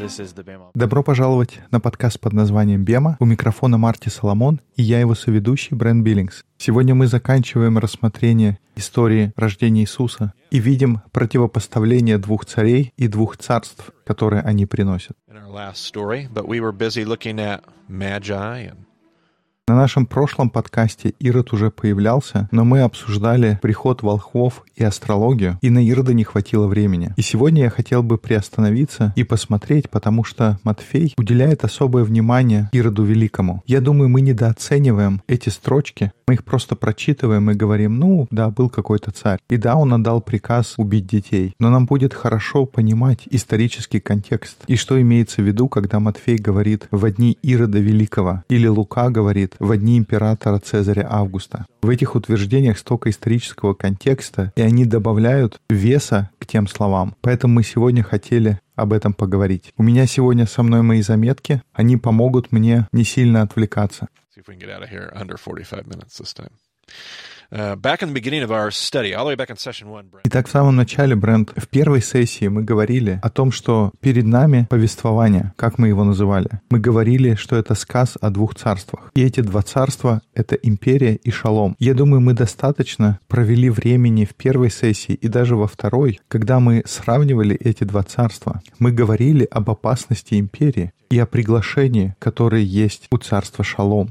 Добро пожаловать на подкаст под названием «Бема». У микрофона Марти Соломон, и я его соведущий Брент Биллингс. Сегодня мы заканчиваем рассмотрение истории рождения Иисуса и видим противопоставление двух царей и двух царств, которые они приносят. На нашем прошлом подкасте Ирод уже появлялся, но мы обсуждали приход волхвов и астрологию, и на Ирода не хватило времени. И сегодня я хотел бы приостановиться и посмотреть, потому что Матфей уделяет особое внимание Ироду Великому. Я думаю, мы недооцениваем эти строчки, мы их просто прочитываем и говорим, да, был какой-то царь, и да, он отдал приказ убить детей. Но нам будет хорошо понимать исторический контекст и что имеется в виду, когда Матфей говорит «во дни Ирода Великого» или Лука говорит «во дни императора Цезаря Августа». В этих утверждениях столько исторического контекста, и они добавляют веса к тем словам. Поэтому мы сегодня хотели об этом поговорить. У меня сегодня со мной мои заметки, они помогут мне не сильно отвлекаться. Итак, в самом начале, Брент, в первой сессии мы говорили о том, что перед нами повествование, как мы его называли. Мы говорили, что это сказ о двух царствах. И эти два царства — это империя и шалом. Я думаю, мы достаточно провели времени в первой сессии и даже во второй, когда мы сравнивали эти два царства. Мы говорили об опасности империи и о приглашении, которое есть у царства шалом.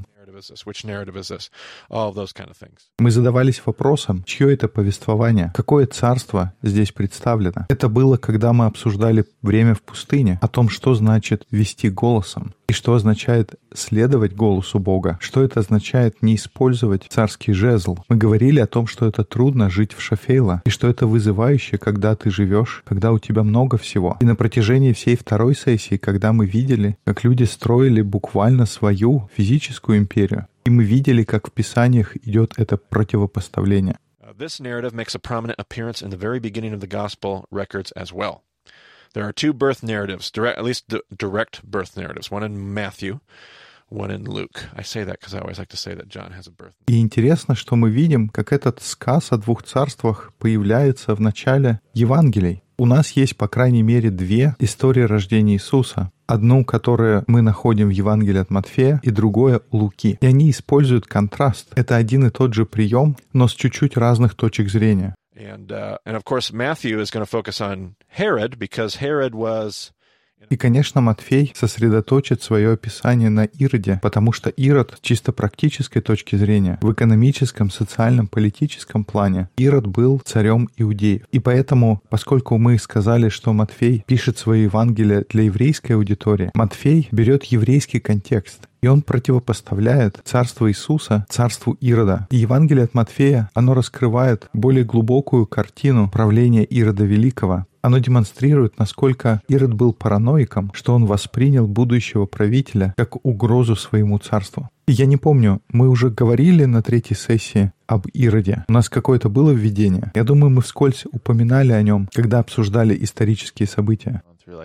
Мы задавались вопросом, чье это повествование, какое царство здесь представлено. Это было, когда мы обсуждали время в пустыне, о том, что значит вести голосом, и что означает следовать голосу Бога, что это означает не использовать царский жезл. Мы говорили о том, что это трудно жить в шафейла, и что это вызывающе, когда ты живешь, когда у тебя много всего. И на протяжении всей второй сессии, когда мы видели, как люди строили буквально свою физическую империю, и мы видели, как в Писаниях идет это противопоставление. This narrative makes a prominent appearance in the very beginning of the gospel records as well. There are two birth narratives, at least direct birth narratives, one in Matthew, one in Luke. I say that because I always like to say that John has a birth. И интересно, что мы видим, как этот сказ о двух царствах появляется в начале Евангелий. У нас есть, по крайней мере, две истории рождения Иисуса. Одну, которую мы находим в Евангелии от Матфея, и другое у Луки. И они используют контраст. Это один и тот же прием, но с чуть-чуть разных точек зрения. And of course, Matthew is going to focus on Herod because Herod was. И, конечно, Матфей сосредоточит свое описание на Ироде, потому что Ирод с чисто практической точки зрения, в экономическом, социальном, политическом плане, Ирод был царем иудеев. И поэтому, поскольку мы сказали, что Матфей пишет свои Евангелия для еврейской аудитории, Матфей берет еврейский контекст, и он противопоставляет царство Иисуса царству Ирода. И Евангелие от Матфея, оно раскрывает более глубокую картину правления Ирода Великого. Оно демонстрирует, насколько Ирод был параноиком, что он воспринял будущего правителя как угрозу своему царству. И я не помню, мы уже говорили на третьей сессии об Ироде. У нас какое-то было введение. Я думаю, мы вскользь упоминали о нем, когда обсуждали исторические события.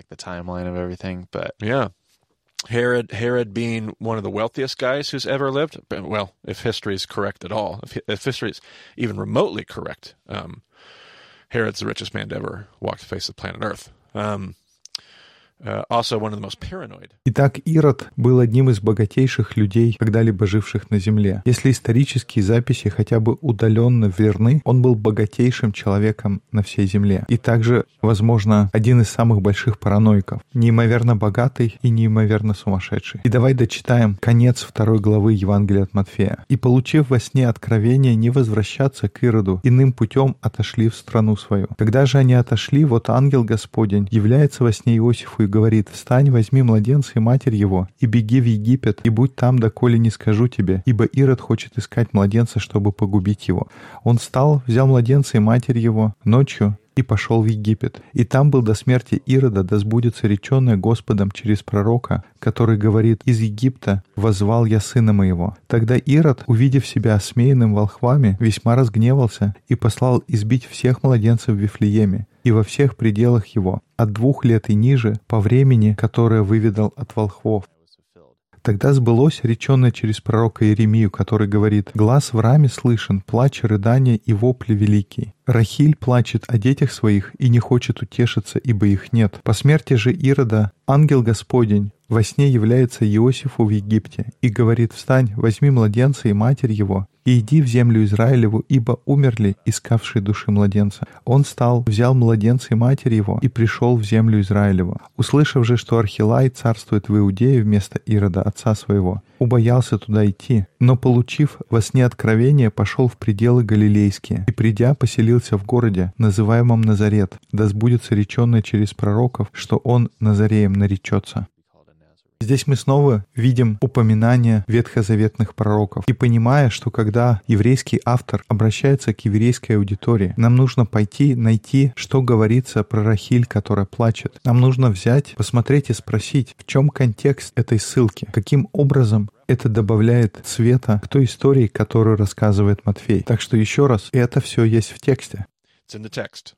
Herod being one of the wealthiest guys who's ever lived. Well, if history is correct at all, if history is even remotely correct, Herod's the richest man to ever walk the face of planet Earth. Also one of the most paranoid. Итак, Ирод был одним из богатейших людей, когда-либо живших на земле. Если исторические записи хотя бы удаленно верны, он был богатейшим человеком на всей земле. И также, возможно, один из самых больших параноиков. Неимоверно богатый и неимоверно сумасшедший. И давай дочитаем конец 2 главы Евангелия от Матфея. «И, получив во сне откровение не возвращаться к Ироду, иным путем отошли в страну свою. Когда же они отошли, вот ангел Господень является во сне Иосифу и говорит: «Встань, возьми младенца и матерь его, и беги в Египет, и будь там, доколе не скажу тебе, ибо Ирод хочет искать младенца, чтобы погубить его». Он встал, взял младенца и матерь его ночью и пошел в Египет. И там был до смерти Ирода, да сбудется реченное Господом через пророка, который говорит: «Из Египта воззвал я сына моего». Тогда Ирод, увидев себя осмеянным волхвами, весьма разгневался и послал избить всех младенцев в Вифлееме и во всех пределах его, от 2 лет и ниже, по времени, которое выведал от волхвов. Тогда сбылось реченное через пророка Иеремию, который говорит: «Глас в раме слышен, плач, рыдание и вопли великий. Рахиль плачет о детях своих и не хочет утешиться, ибо их нет. По смерти же Ирода ангел Господень во сне является Иосифу в Египте и говорит: встань, возьми младенца и матерь его, и иди в землю Израилеву, ибо умерли искавшие души младенца. Он встал, взял младенца и матерь его, и пришел в землю Израилеву. Услышав же, что Архилай царствует в Иудее вместо Ирода, отца своего, убоялся туда идти, но, получив во сне откровение, пошел в пределы галилейские, и, придя, поселился в городе, называемом Назарет, да сбудется реченное через пророков, что он Назареем наречется». Здесь мы снова видим упоминание ветхозаветных пророков. И понимая, что когда еврейский автор обращается к еврейской аудитории, нам нужно пойти найти, что говорится про Рахиль, которая плачет. Нам нужно взять, посмотреть и спросить, в чем контекст этой ссылки, каким образом это добавляет цвета к той истории, которую рассказывает Матфей. Так что еще раз, это все есть в тексте. It's in the text.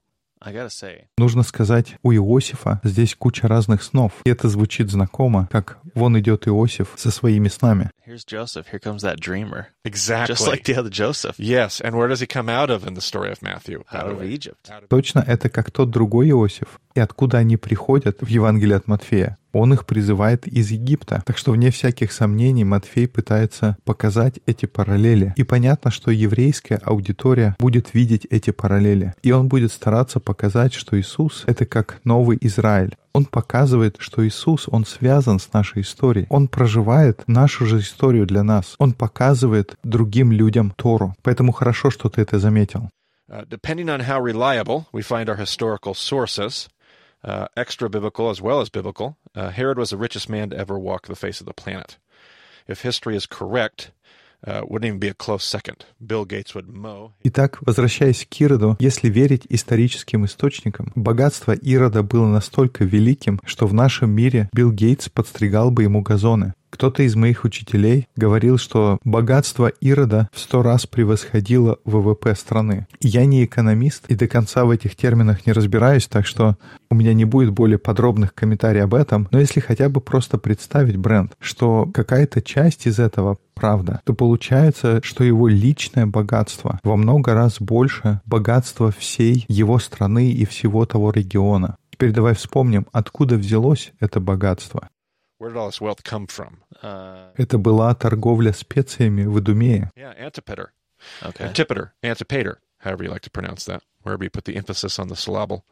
Нужно сказать, у Иосифа здесь куча разных снов. И это звучит знакомо, как вон идет Иосиф со своими снами. Here's Joseph. Here comes that dreamer. Exactly. Just like the other Joseph. Yes, and where does he come out of in the story of Matthew? Out of Egypt. Точно, это как тот другой Иосиф. И откуда они приходят в Евангелии от Матфея? Он их призывает из Египта. Так что, вне всяких сомнений, Матфей пытается показать эти параллели. И понятно, что еврейская аудитория будет видеть эти параллели. И он будет стараться показать, что Иисус — это как новый Израиль. Он показывает, что Иисус, Он связан с нашей историей. Он проживает нашу же историю для нас. Он показывает другим людям Тору. Поэтому хорошо, что ты это заметил. Depending on how reliable we find our historical sources, extra-biblical as well as biblical, Herod was the richest man to ever walk the face of the planet. If history is correct, wouldn't even be a close second. Bill Gates would mow. Итак, возвращаясь к Ироду, если верить историческим источникам, богатство Ирода было настолько великим, что в нашем мире Билл Гейтс подстригал бы ему газоны. Кто-то из моих учителей говорил, что богатство Ирода в 100 раз превосходило ВВП страны. Я не экономист и до конца в этих терминах не разбираюсь, так что у меня не будет более подробных комментариев об этом, но если хотя бы просто представить, Брент, что какая-то часть из этого правда, то получается, что его личное богатство во много раз больше богатства всей его страны и всего того региона. Теперь давай вспомним, откуда взялось это богатство. Where did all this wealth come from? Это была торговля специями в Идумее. Yeah, Antipater. Okay. Antipater, however you like to pronounce that, wherever you put the emphasis on the syllable.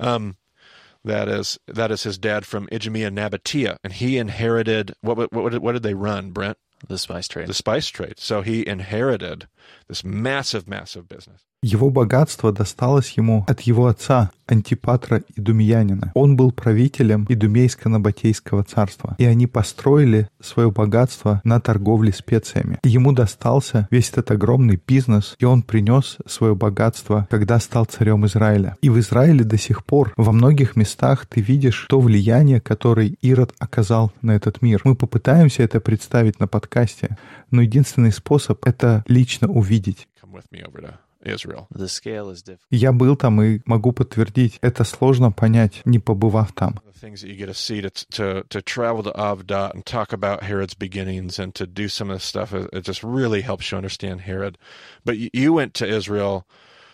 That is his dad from Idumea Nabatea, and he inherited, what did they run, Brent? The spice trade. The spice trade. So he inherited this massive, massive business. Его богатство досталось ему от его отца, Антипатра Идумеянина. Он был правителем Идумейско-Набатейского царства, и они построили свое богатство на торговле специями. Ему достался весь этот огромный бизнес, и он принес свое богатство, когда стал царем Израиля. И в Израиле до сих пор во многих местах ты видишь то влияние, которое Ирод оказал на этот мир. Мы попытаемся это представить на подкасте, но единственный способ — это лично увидеть. Come with me over to Israel. The scale is different. Я был там и могу подтвердить, это сложно понять, не побывав там. The things that you get to see to travel to Avda and talk about Herod's beginnings and to do some of this stuff, it just really helps you understand Herod. But you went to Israel.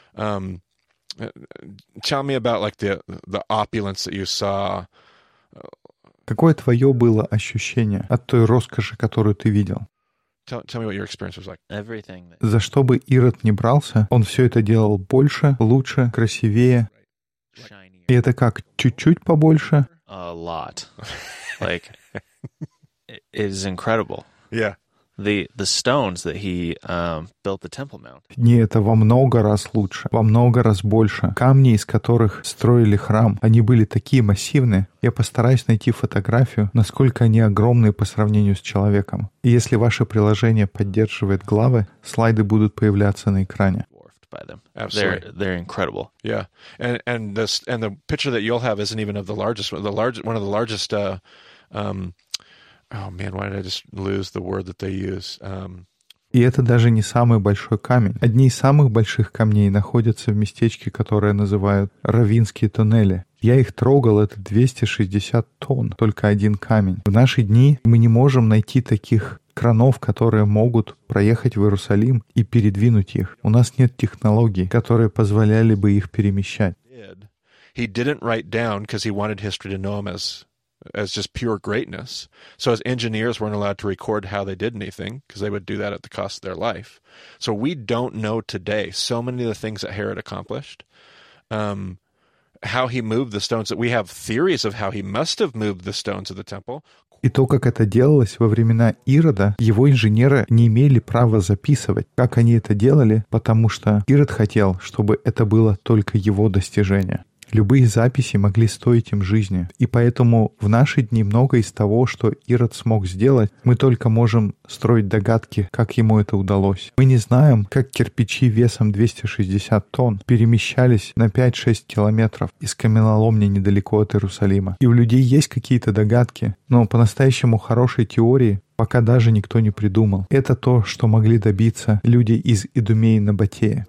Tell me about like the opulence that you saw. Какое твое было ощущение от той роскоши, которую ты видел? Tell me what your experience was like. Everything. За что бы Ирод не брался, он все это делал больше, лучше, красивее. Shinier. И это как, чуть-чуть побольше? A lot. Like, it is incredible. Yeah. The stones that he built the Temple Mount. Не, это во много раз лучше, во много раз больше. Камни, из которых строили храм, они были такие массивные. Я постараюсь найти фотографию, насколько они огромные по сравнению с человеком. И если ваше приложение поддерживает главы, слайды будут появляться на экране. By them. Absolutely. They're incredible. Yeah. And the picture that you'll have isn't even of the largest one. One of the largest oh man, why did I just lose the word that they use? И это даже не самый большой камень. Одни из самых больших камней находятся в местечке, которое называют Равинские туннели. Я их трогал, это 260 тонн, только один камень. В наши дни мы не можем найти таких кранов, которые могут проехать в Иерусалим и передвинуть их. У нас нет технологий, которые позволяли бы их перемещать. He didn't write down because he wanted history to know him as just pure greatness. So his engineers weren't allowed to record how they did anything because they would do that at the cost of their life. So we don't know today so many of the things that Herod accomplished. How he moved the stones. That we have theories of how he must have moved the stones of the temple. И то, как это делалось во времена Ирода, его инженеры не имели права записывать, как они это делали, потому что Ирод хотел, чтобы это было только его достижение. Любые записи могли стоить им жизни, и поэтому в наши дни многое из того, что Ирод смог сделать, мы только можем строить догадки, как ему это удалось. Мы не знаем, как кирпичи весом 260 тонн перемещались на 5-6 километров из каменоломни недалеко от Иерусалима. И у людей есть какие-то догадки, но по-настоящему хорошей теории пока даже никто не придумал. Это то, что могли добиться люди из Идумеи Набатея.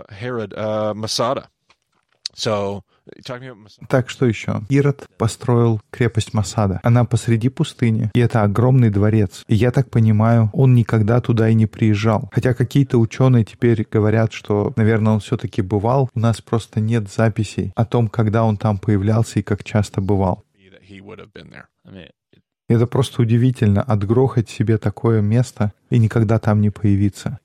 Так, что еще? Ирод построил крепость Масада. Она посреди пустыни, и это огромный дворец. И я так понимаю, он никогда туда и не приезжал. Хотя какие-то ученые теперь говорят, что, наверное, он все-таки бывал. У нас просто нет записей о том, когда он там появлялся и как часто бывал. Это просто удивительно, отгрохать себе такое место и никогда там не появиться.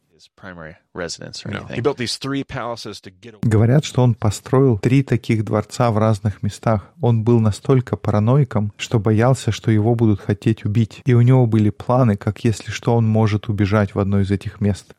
Говорят, что он построил 3 таких дворца в разных местах. Он был настолько параноиком, что боялся, что его будут хотеть убить. И у него были планы, как если что, он может убежать в одно из этих мест.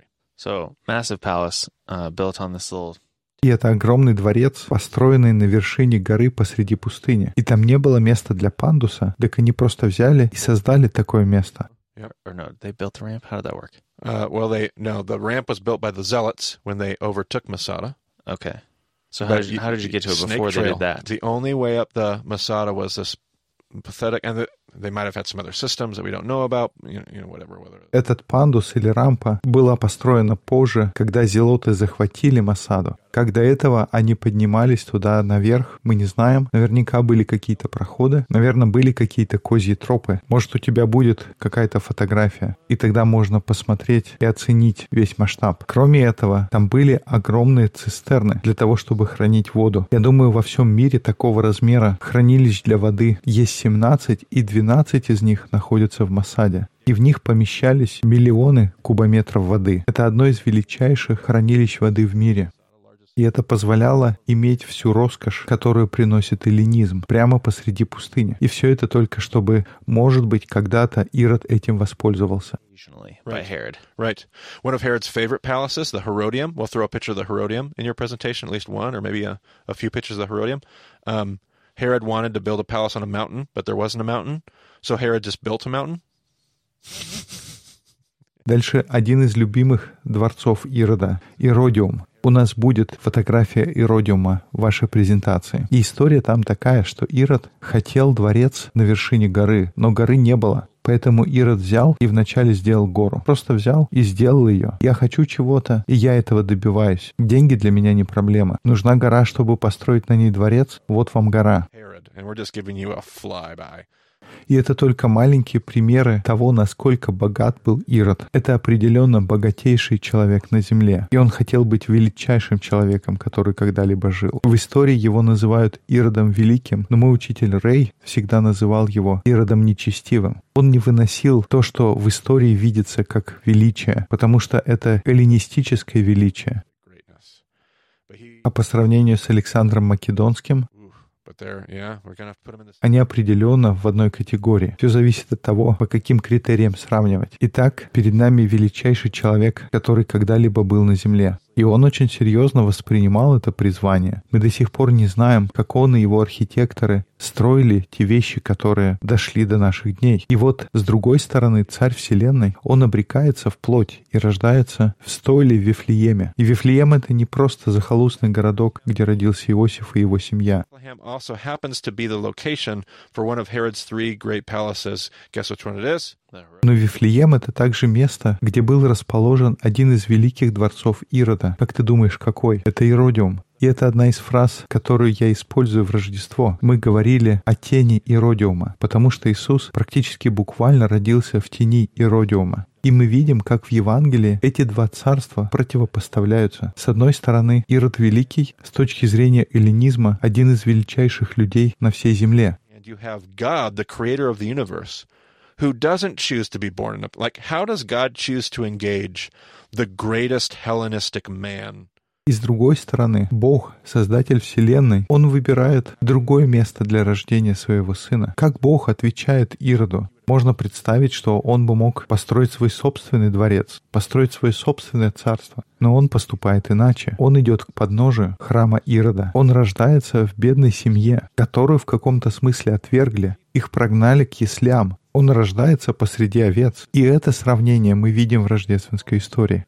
И это огромный дворец, построенный на вершине горы посреди пустыни. И там не было места для пандуса, так они просто взяли и создали такое место. Or no, they built the ramp? How did that work? The ramp was built by the Zealots when they overtook Masada. Okay. So how did you get to it before they did that? The only way up the Masada was this pathetic, and they might have had some other systems that we don't know about, whatever. Этот пандус или рампа была построена позже, когда зелоты захватили Масаду. Как до этого они поднимались туда наверх, мы не знаем. Наверняка были какие-то проходы, наверное, были какие-то козьи тропы. Может, у тебя будет какая-то фотография, и тогда можно посмотреть и оценить весь масштаб. Кроме этого, там были огромные цистерны для того, чтобы хранить воду. Я думаю, во всем мире такого размера хранилищ для воды есть 17, и 12 из них находятся в Масаде. И в них помещались миллионы кубометров воды. Это одно из величайших хранилищ воды в мире. И это позволяло иметь всю роскошь, которую приносит эллинизм, прямо посреди пустыни. И все это только чтобы, может быть, когда-то Ирод этим воспользовался. Right. One of Herod's favorite palaces, the Herodium. We'll throw a picture of the Herodium in your presentation, at least one, or maybe a few pictures of the Herodium. Herod wanted to build a palace on a mountain, but there wasn't a mountain, so Herod just built a mountain. Дальше один из любимых дворцов Ирода — Иродиум. У нас будет фотография Иродиума в вашей презентации. И история там такая, что Ирод хотел дворец на вершине горы, но горы не было. Поэтому Ирод взял и вначале сделал гору. Просто взял и сделал ее. Я хочу чего-то, и я этого добиваюсь. Деньги для меня не проблема. Нужна гора, чтобы построить на ней дворец. Вот вам гора. И это только маленькие примеры того, насколько богат был Ирод. Это определенно богатейший человек на земле. И он хотел быть величайшим человеком, который когда-либо жил. В истории его называют Иродом Великим, но мой учитель Рэй всегда называл его Иродом Нечестивым. Он не выносил то, что в истории видится как величие, потому что это эллинистическое величие. А по сравнению с Александром Македонским, они определенно в одной категории. Все зависит от того, по каким критериям сравнивать. Итак, перед нами величайший человек, который когда-либо был на земле. И он очень серьезно воспринимал это призвание. Мы до сих пор не знаем, как он и его архитекторы строили те вещи, которые дошли до наших дней. И вот, с другой стороны, царь Вселенной, он обрекается в плоть и рождается в стойле в Вифлееме. И Вифлеем — это не просто захолустный городок, где родился Иосиф и его семья. Но Вифлеем — это также место, где был расположен один из великих дворцов Ирода. Как ты думаешь, какой? Это Иродиум. И это одна из фраз, которую я использую в Рождество. Мы говорили о тени Иродиума, потому что Иисус практически буквально родился в тени Иродиума. И мы видим, как в Евангелии эти два царства противопоставляются. С одной стороны, Ирод Великий, с точки зрения эллинизма, один из величайших людей на всей земле. You have God, the creator of the universe, who doesn't choose to be born in a... Like, how does God choose to engage the greatest Hellenistic man? И с другой стороны, Бог, Создатель Вселенной, Он выбирает другое место для рождения своего Сына. Как Бог отвечает Ироду? Можно представить, что он бы мог построить свой собственный дворец, построить свое собственное царство. Но он поступает иначе. Он идет к подножию храма Ирода. Он рождается в бедной семье, которую в каком-то смысле отвергли. Их прогнали к яслям. Он рождается посреди овец. И это сравнение мы видим в рождественской истории.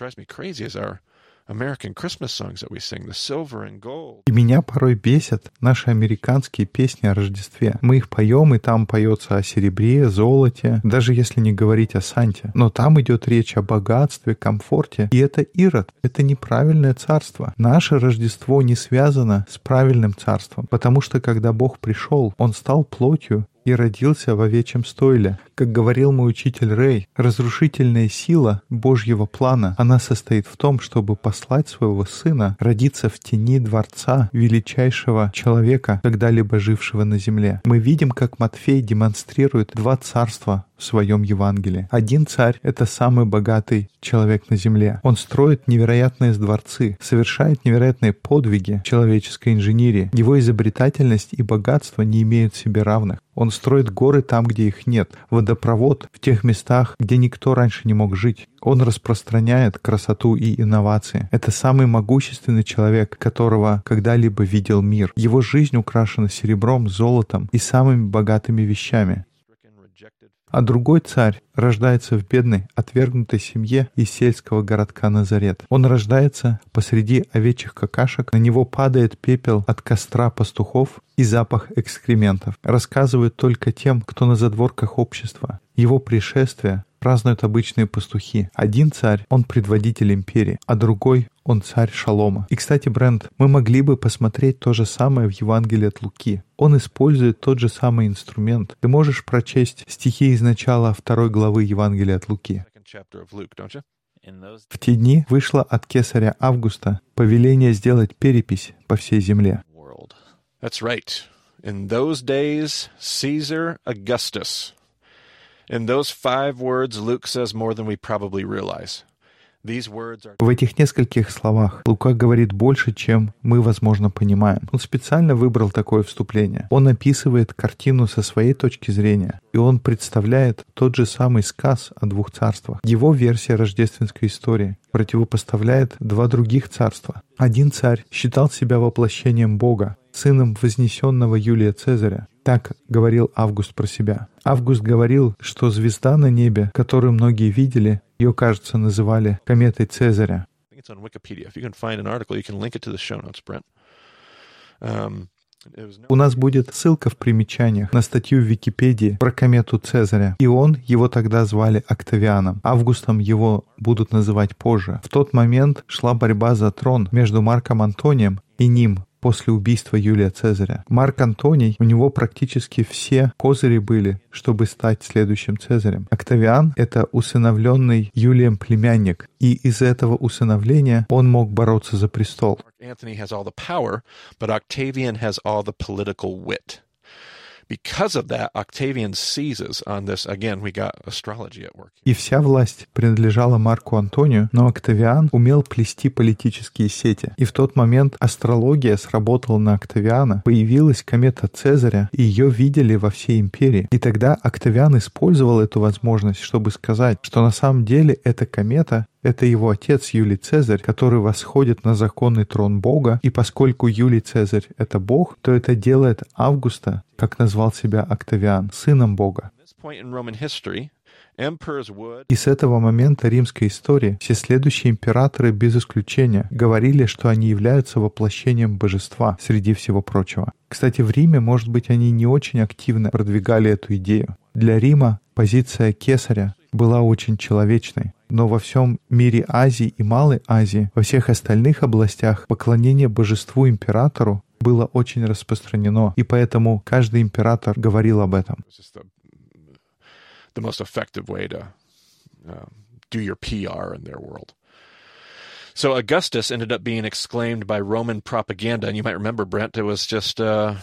American Christmas songs that we sing, the silver and gold. И меня порой бесят наши американские песни о Рождестве. Мы их поем, и там поется о серебре, золоте, даже если не говорить о Санте. Но там идет речь о богатстве, комфорте. И это Ирод, это неправильное царство. Наше Рождество не связано с правильным царством, потому что когда Бог пришел, Он стал плотью и родился в овечьем стойле. Как говорил мой учитель Рэй, разрушительная сила Божьего плана, она состоит в том, чтобы послать своего Сына родиться в тени дворца величайшего человека, когда-либо жившего на земле. Мы видим, как Матфей демонстрирует два царства в своем Евангелии. Один царь — это самый богатый человек на земле. Он строит невероятные дворцы, совершает невероятные подвиги человеческой инженерии. Его изобретательность и богатство не имеют себе равных. Он строит горы там, где их нет, водопровод в тех местах, где никто раньше не мог жить. Он распространяет красоту и инновации. Это самый могущественный человек, которого когда-либо видел мир. Его жизнь украшена серебром, золотом и самыми богатыми вещами. А другой царь рождается в бедной, отвергнутой семье из сельского городка Назарет. Он рождается посреди овечьих какашек, на него падает пепел от костра пастухов и запах экскрементов. Рассказывают только тем, кто на задворках общества. Его пришествие празднуют обычные пастухи. Один царь, он предводитель империи, а другой, он царь Шалома. И, кстати, Брент, мы могли бы посмотреть то же самое в Евангелии от Луки. Он использует тот же самый инструмент. Ты можешь прочесть стихи из начала 2 главы Евангелия от Луки. В те дни вышло от кесаря Августа повеление сделать перепись по всей земле. That's right. In those days, Caesar Augustus. In those 5 words, Luke says more than we probably realize. В этих нескольких словах Лука говорит больше, чем мы, возможно, понимаем. Он специально выбрал такое вступление. Он описывает картину со своей точки зрения, и он представляет тот же самый сказ о 2 царствах. Его версия рождественской истории противопоставляет 2 других царства. Один царь считал себя воплощением Бога, сыном вознесенного Юлия Цезаря. Так говорил Август про себя. Август говорил, что звезда на небе, которую многие видели, ее, кажется, называли кометой Цезаря. У нас будет ссылка в примечаниях на статью в Википедии про комету Цезаря. И его тогда звали Октавианом. Августом его будут называть позже. В тот момент шла борьба за трон между Марком Антонием и ним после убийства Юлия Цезаря. Марк Антоний, у него практически все козыри были, чтобы стать следующим Цезарем. Октавиан — это усыновленный Юлием племянник, и из этого усыновления он мог бороться за престол. Anthony has all the power, but Octavian has all the political wit. Because of that, Octavian seizes on this. Again, we got astrology at work. И вся власть принадлежала Марку Антонию, но Октавиан умел плести политические сети. И в тот момент астрология сработала на Октавиана, появилась комета Цезаря, и ее видели во всей империи. И тогда Октавиан использовал эту возможность, чтобы сказать, что на самом деле эта комета — это его отец Юлий Цезарь, который восходит на законный трон Бога, и поскольку Юлий Цезарь — это Бог, то это делает Августа, как назвал себя Октавиан, сыном Бога. И с этого момента римской истории все следующие императоры без исключения говорили, что они являются воплощением божества среди всего прочего. Кстати, в Риме, может быть, они не очень активно продвигали эту идею. Для Рима позиция кесаря была очень человечной. Но во всем мире Азии и Малой Азии, во всех остальных областях, поклонение божеству императору было очень распространено. И поэтому каждый император говорил об этом. The most effective way to do your PR in their world. So Augustus ended up being exclaimed by Roman propaganda, and you might remember, Brent, it was just a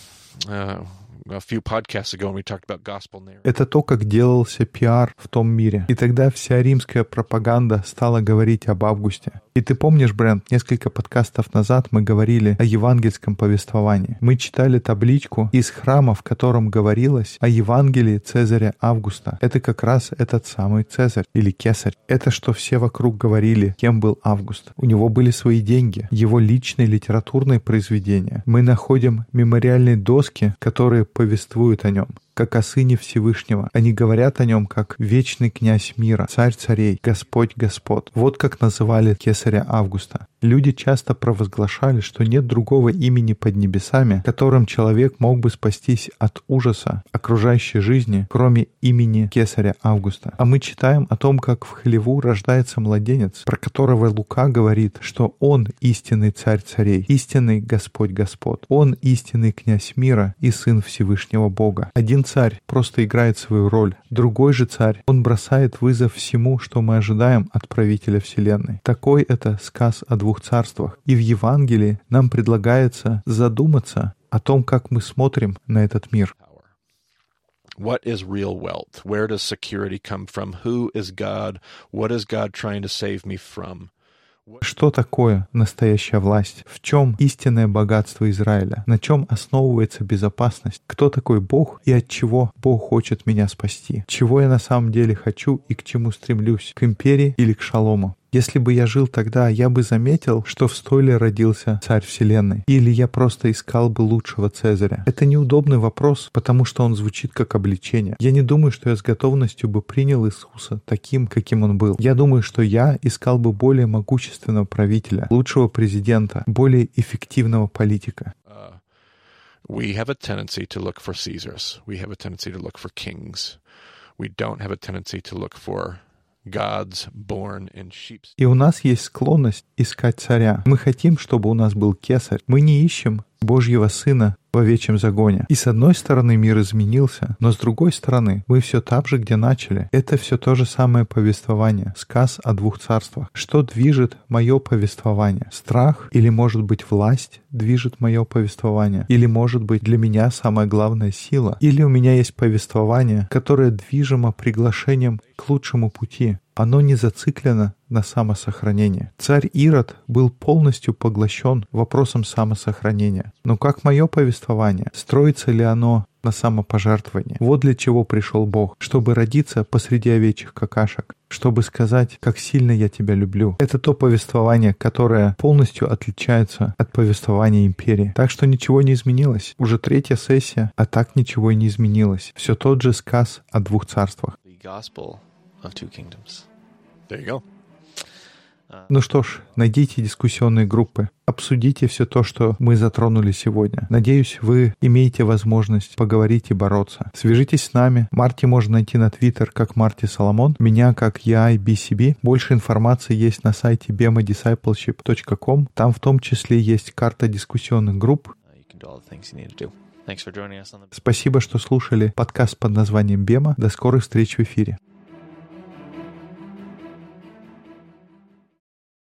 few podcasts ago when we talked about gospel narrative. Это то, как делался пиар в том мире. И тогда вся римская пропаганда стала говорить об Августе. И ты помнишь, Брент, несколько подкастов назад мы говорили о евангельском повествовании. Мы читали табличку из храма, в котором говорилось о Евангелии Цезаря Августа. Это как раз этот самый Цезарь или Кесарь. Это что все вокруг говорили, кем был Август. У него были свои деньги, его личные литературные произведения. Мы находим мемориальные доски, которые повествуют о нем, как о Сыне Всевышнего. Они говорят о нем как вечный князь мира, царь царей, Господь господ. Вот как называли кесаря Августа. Люди часто провозглашали, что нет другого имени под небесами, которым человек мог бы спастись от ужаса окружающей жизни, кроме имени кесаря Августа. А мы читаем о том, как в хлеву рождается младенец, про которого Лука говорит, что он истинный царь царей, истинный Господь господ. Он истинный князь мира и Сын Всевышнего Бога. Один царь просто играет свою роль. Другой же царь, он бросает вызов всему, что мы ожидаем от правителя Вселенной. Такой это сказ о двух царствах. И в Евангелии нам предлагается задуматься о том, как мы смотрим на этот мир. What is real wealth? Where does security come from? Who is God? What is God trying to save me from? Что такое настоящая власть? В чем истинное богатство Израиля? На чем основывается безопасность? Кто такой Бог и от чего Бог хочет меня спасти? Чего я на самом деле хочу и к чему стремлюсь? К империи или к шалому? Если бы я жил тогда, я бы заметил, что в стойле родился царь вселенной. Или я просто искал бы лучшего Цезаря. Это неудобный вопрос, потому что он звучит как обличение. Я не думаю, что я с готовностью бы принял Иисуса таким, каким он был. Я думаю, что я искал бы более могущественного правителя, лучшего президента, более эффективного политика. We have a tendency to look for Caesars. We have a tendency to look for kings. We don't have a tendency to look for gods born in sheep's. И у нас есть склонность искать царя. Мы хотим, чтобы у нас был кесарь. Мы не ищем Божьего Сына в овечьем загоне. И с одной стороны мир изменился, но с другой стороны мы все там же, где начали. Это все то же самое повествование, сказ о двух царствах. Что движет мое повествование? Страх или, может быть, власть движет мое повествование? Или, может быть, для меня самая главная сила? Или у меня есть повествование, которое движимо приглашением к лучшему пути? Оно не зациклено на самосохранение. Царь Ирод был полностью поглощен вопросом самосохранения. Но как мое повествование? Строится ли оно на самопожертвование? Вот для чего пришел Бог. Чтобы родиться посреди овечьих какашек. Чтобы сказать, как сильно я тебя люблю. Это то повествование, которое полностью отличается от повествования империи. Так что ничего не изменилось. Уже 3-я сессия, а так ничего и не изменилось. Все тот же сказ о двух царствах. Of two kingdoms. There you go. Ну что ж, найдите дискуссионные группы, обсудите все то, что мы затронули сегодня. Надеюсь, вы имеете возможность поговорить и бороться. Свяжитесь с нами. Марти можно найти на Twitter как Марти Соломон, меня как YBCB. Больше информации есть на сайте bemadiscipleship.com. Там в том числе есть карта дискуссионных групп. Спасибо, что слушали подкаст под названием Бема. До скорых встреч в эфире.